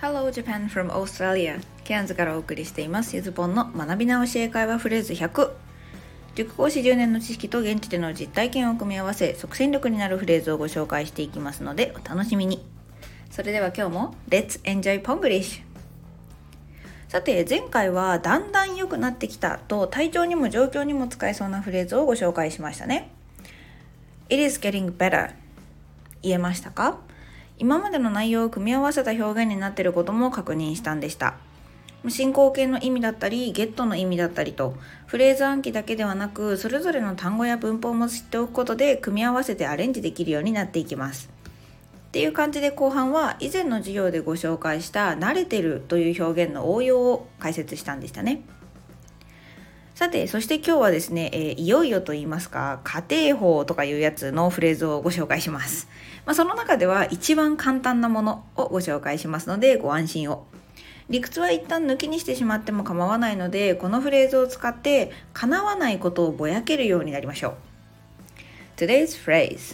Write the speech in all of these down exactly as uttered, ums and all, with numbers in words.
Hello Japan from Australia ケアンズからお送りしていますゆずぽんの学び直し英会話フレーズひゃく。塾講師じゅうねんの知識と現地での実体験を組み合わせ即戦力になるフレーズをご紹介していきますのでお楽しみに。それでは今日も Let's enjoy Ponglish。 さて前回はだんだん良くなってきたと体調にも状況にも使えそうなフレーズをご紹介しましたね。 It is getting better 言えましたか？今までの内容を組み合わせた表現になっていることも確認したんでした。進行形の意味だったりゲットの意味だったりとフレーズ暗記だけではなくそれぞれの単語や文法も知っておくことで組み合わせてアレンジできるようになっていきますっていう感じで、後半は以前の授業でご紹介した慣れてるという表現の応用を解説したんでしたね。さてそして今日はですね、えー、いよいよと言いますか家庭法とかいうやつのフレーズをご紹介します。まあ、その中では一番簡単なものをご紹介しますのでご安心を。理屈は一旦抜きにしてしまっても構わないのでこのフレーズを使って叶わないことをぼやけるようになりましょう。 Today's phrase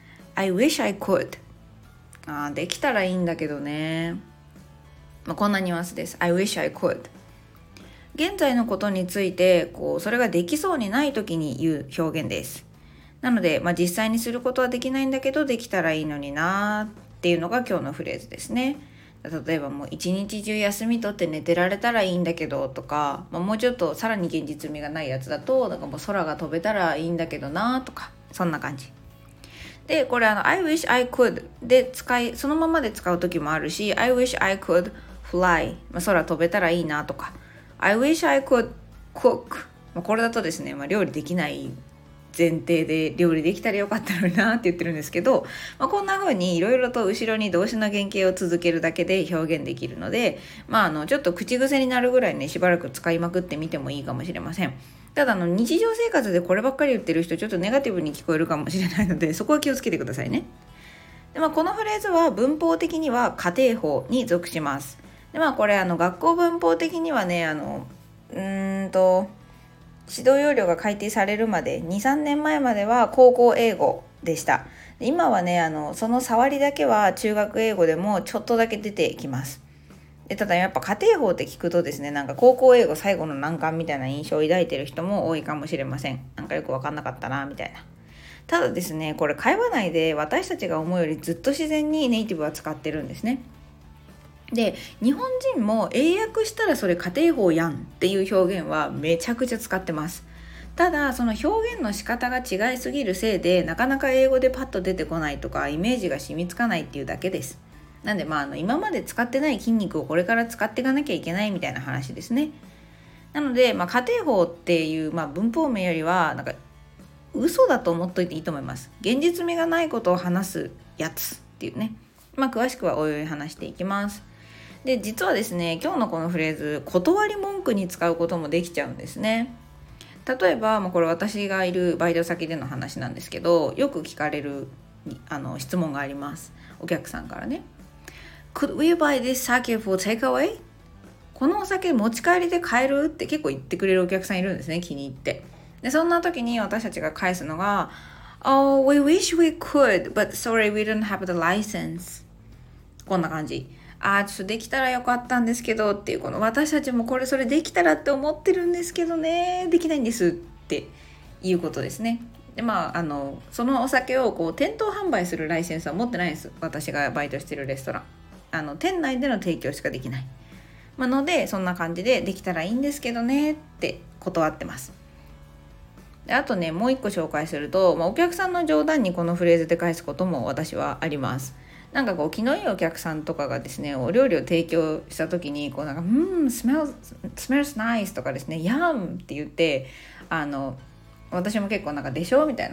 I wish I could。 あできたらいいんだけどね、まあ、こんなニュアンスです。 I wish I could。現在のことについてこうそれができそうにない時に言う表現です。なので、まあ、実際にすることはできないんだけどできたらいいのになっていうのが今日のフレーズですね。例えばもう一日中休み取って寝てられたらいいんだけどとか、まあ、もうちょっとさらに現実味がないやつだとなんかもう空が飛べたらいいんだけどなとか、そんな感じで、これあの I wish I could で使いそのままで使う時もあるし I wish I could fly、まあ、空飛べたらいいなとかI wish I could cook、まあ、これだとですね、まあ、料理できない前提で料理できたらよかったのになって言ってるんですけど、まあ、こんな風にいろいろと後ろに動詞の原型を続けるだけで表現できるので、まあ、あのちょっと口癖になるぐらいねしばらく使いまくってみてもいいかもしれません。ただあの日常生活でこればっかり言ってる人ちょっとネガティブに聞こえるかもしれないのでそこは気をつけてくださいね。で、まあ、このフレーズは文法的には家庭法に属します。で、まあ、これあの学校文法的にはねあのうーんと指導要領が改定されるまで に,さん 年前までは高校英語でした。今はねあのその触りだけは中学英語でもちょっとだけ出てきます。でただやっぱ家庭法って聞くとですねなんか高校英語最後の難関みたいな印象を抱いてる人も多いかもしれません。なんかよく分かんなかったなみたいな。ただですねこれ会話内で私たちが思うよりずっと自然にネイティブは使ってるんですね。で日本人も英訳したらそれ家庭法やんっていう表現はめちゃくちゃ使ってます。ただその表現の仕方が違いすぎるせいでなかなか英語でパッと出てこないとかイメージが染みつかないっていうだけです。なんでまああの今まで使ってない筋肉をこれから使っていかなきゃいけないみたいな話ですね。なので、まあ、家庭法っていう、まあ、文法名よりはなんか嘘だと思っといていいと思います。現実味がないことを話すやつっていうね。まあ詳しくはおいおい話していきます。で実はですね今日のこのフレーズ断り文句に使うこともできちゃうんですね。例えば、まあ、これ私がいるバイト先での話なんですけどよく聞かれるあの質問があります。お客さんからね Could we buy this sake for takeaway？ このお酒持ち帰りで買えるって結構言ってくれるお客さんいるんですね。気に入ってでそんな時に私たちが返すのが Oh, we wish we could but sorry we don't have the license。 こんな感じ。あーちょっとできたらよかったんですけどっていうこの私たちもこれそれできたらって思ってるんですけどねできないんですっていうことですね。でまああのそのお酒をこう店頭販売するライセンスは持ってないです。私がバイトしてるレストランあの店内での提供しかできない、まあのでそんな感じでできたらいいんですけどねって断ってます。であとねもう一個紹介すると、まあ、お客さんの冗談にこのフレーズで返すことも私はあります。なんかこう気のいいお客さんとかがですねお料理を提供した時にこうなんかうん smells, smells nice とかですね yum って言ってあの私も結構なんかでしょみたいな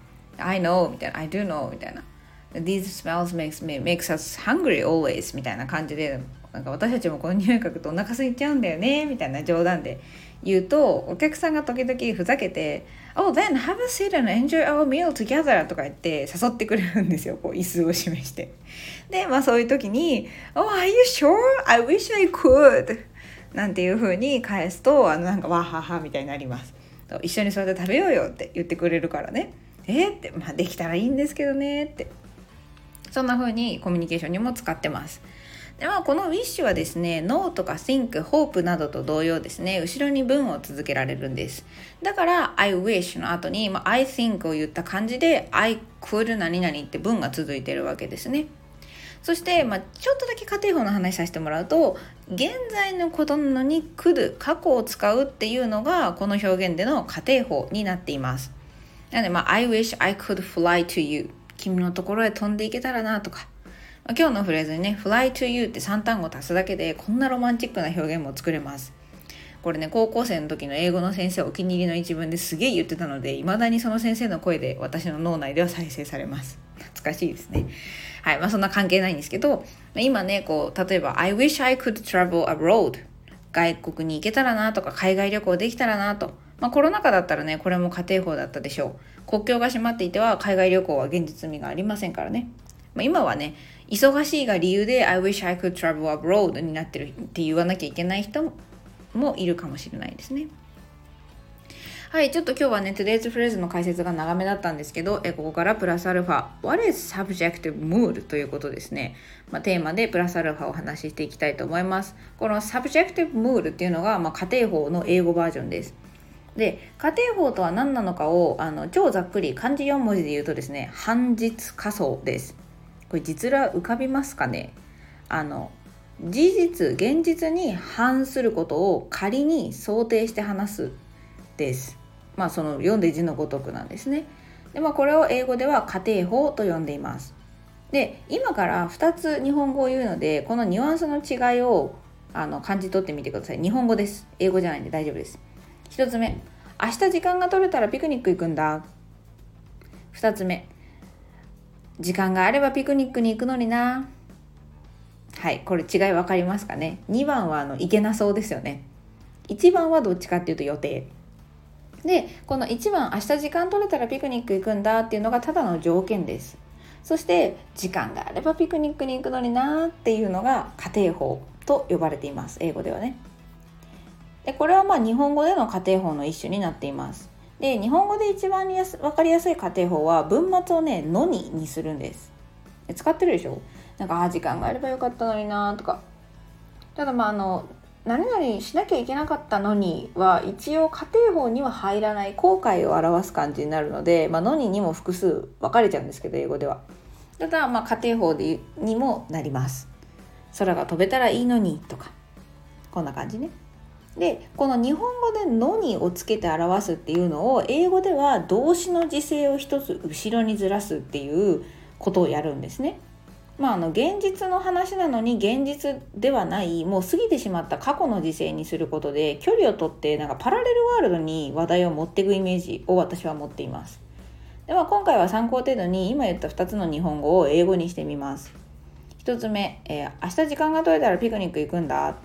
I know みたいな I do know みたいな These smells makes, me, makes us hungry always みたいな感じでなんか私たちもこの匂い嗅ぐとお腹空いちゃうんだよねみたいな冗談で言うとお客さんが時々ふざけて Oh then have a seat and enjoy our meal together とか言って誘ってくれるんですよ。こう椅子を示してでまあそういう時に Oh are you sure? I wish I could なんていう風に返すとあのなんかわははみたいになります。一緒にそれで食べようよって言ってくれるからねえー、って、まあ、できたらいいんですけどねってそんな風にコミュニケーションにも使ってます。 で、まあ、この wish はですね no とか think、hope などと同様ですね、後ろに文を続けられるんです。だから I wish の後に、まあ、I think を言った感じで I could 何々って文が続いているわけですね。そして、まあ、ちょっとだけ仮定法の話させてもらうと、現在のことなのに could 過去を使うっていうのがこの表現での仮定法になっています。なので、まあ、I wish I could fly to you、 君のところへ飛んでいけたらなとか、まあ、今日のフレーズにね fly to you ってさん単語足すだけでこんなロマンチックな表現も作れます。これね、高校生の時の英語の先生お気に入りの一文ですげえ言ってたので、未だにその先生の声で私の脳内では再生されます。懐かしいですね。はい、まあそんな関係ないんですけど、今ね、こう例えば I wish I could travel abroad、 外国に行けたらなとか、海外旅行できたらなと、まあコロナ禍だったらね、これも仮定法だったでしょう。国境が閉まっていては海外旅行は現実味がありませんからね。まあ、今はね、忙しいが理由で I wish I could travel abroad になってるって言わなきゃいけない人もいるかもしれないですね。はい、ちょっと今日はね Today's Phrase の解説が長めだったんですけど、えここからプラスアルファ What is subjective mood ということですね、まあ、テーマでプラスアルファをお話ししていきたいと思います。この subjective mood っていうのが、まあ、仮定法の英語バージョンです。で、仮定法とは何なのかをあの超ざっくり漢字よん文字で言うとですね、反実仮想です。これ実ら浮かびますかね。あの事実、現実に反することを仮に想定して話すです。まあその読んで字のごとくなんですね。で、まあ、これを英語では仮定法と呼んでいます。で、今からふたつ日本語を言うので、このニュアンスの違いをあの感じ取ってみてください。日本語です。英語じゃないんで大丈夫です。ひとつめ、明日時間が取れたらピクニック行くんだ。ふたつめ、時間があればピクニックに行くのにな。はい、これ違い分かりますかね。にばんはあの行けなそうですよね。いちばんはどっちかっていうと予定で、このいちばん明日時間取れたらピクニック行くんだっていうのがただの条件です。そして時間があればピクニックに行くのになっていうのが仮定法と呼ばれています。英語ではね。で、これはまあ日本語での仮定法の一種になっています。で、日本語で一番やす分かりやすい仮定法は文末をねのににするんです。で、使ってるでしょ。なんかあ時間があればよかったのになとか。ただまああの何々しなきゃいけなかったのには一応仮定法には入らない後悔を表す感じになるので、まあ、のににも複数分かれちゃうんですけど、英語では。ただまあ仮定法でにもなります。空が飛べたらいいのにとか、こんな感じね。で、この日本語でのにをつけて表すっていうのを英語では動詞の時制を一つ後ろにずらすっていうことをやるんですね。まあ、あの現実の話なのに現実ではないもう過ぎてしまった過去の時制にすることで距離を取ってなんかパラレルワールドに話題を持っていくイメージを私は持っています。で、まあ、今回は参考程度に今言ったふたつの日本語を英語にしてみます。ひとつめ、えー、明日時間が取れたらピクニック行くんだ。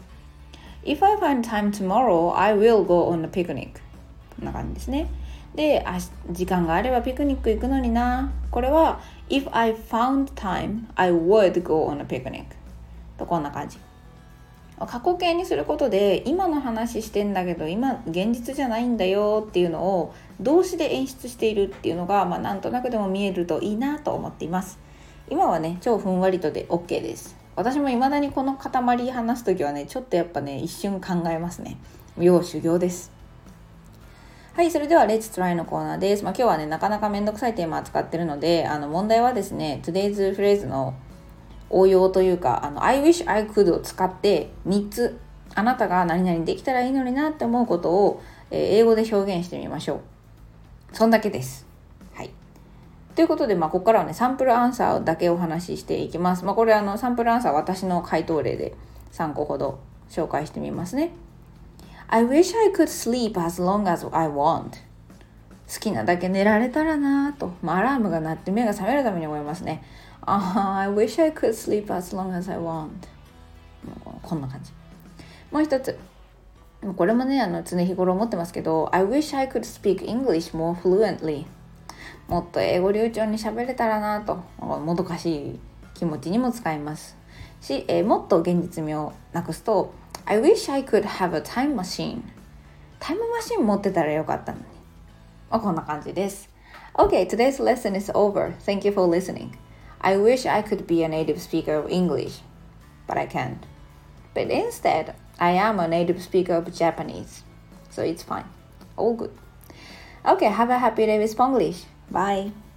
If I find time tomorrow, I will go on a picnic。 こんな感じですね。で、時間があればピクニック行くのにな。これは If I found time, I would go on a picnic とこんな感じ。過去形にすることで今の話してんだけど今現実じゃないんだよっていうのを動詞で演出しているっていうのが、まあ、なんとなくでも見えるといいなと思っています。今はね超ふんわりとで OK です。私も未だにこの塊話すときはねちょっとやっぱね一瞬考えますね。要修行です。はい、それでは Let's Try のコーナーです。まあ、今日はねなかなかめんどくさいテーマを扱ってるので、あの問題はですね Today's Phrase の応用というか、あの I wish I could を使ってみっつあなたが何々できたらいいのになって思うことを、えー、英語で表現してみましょう。そんだけです。はい。ということで、まあ、ここからはねサンプルアンサーだけお話ししていきます。まあ、これあのサンプルアンサー私の回答例でさんこほど紹介してみますね。I wish I could sleep as long as I want。 好きなだけ寝られたらなと、まあ、アラームが鳴って目が覚めるために思いますね。uh, I wish I could sleep as long as I want。 こんな感じ。もう一つ、これもねあの常日頃思ってますけど I wish I could speak English more fluently。 もっと英語流暢に喋れたらなと、もどかしい気持ちにも使いますし、えー、もっと現実味をなくすとI wish I could have a time machine。 タイムマシン持ってたらよかったのに、まあ、こんな感じです。 Okay, today's lesson is over. Thank you for listening. I wish I could be a native speaker of English. but I can't. But instead, I am a native speaker of Japanese. So it's fine. All good. Okay, have a happy day with Spanglish. Bye.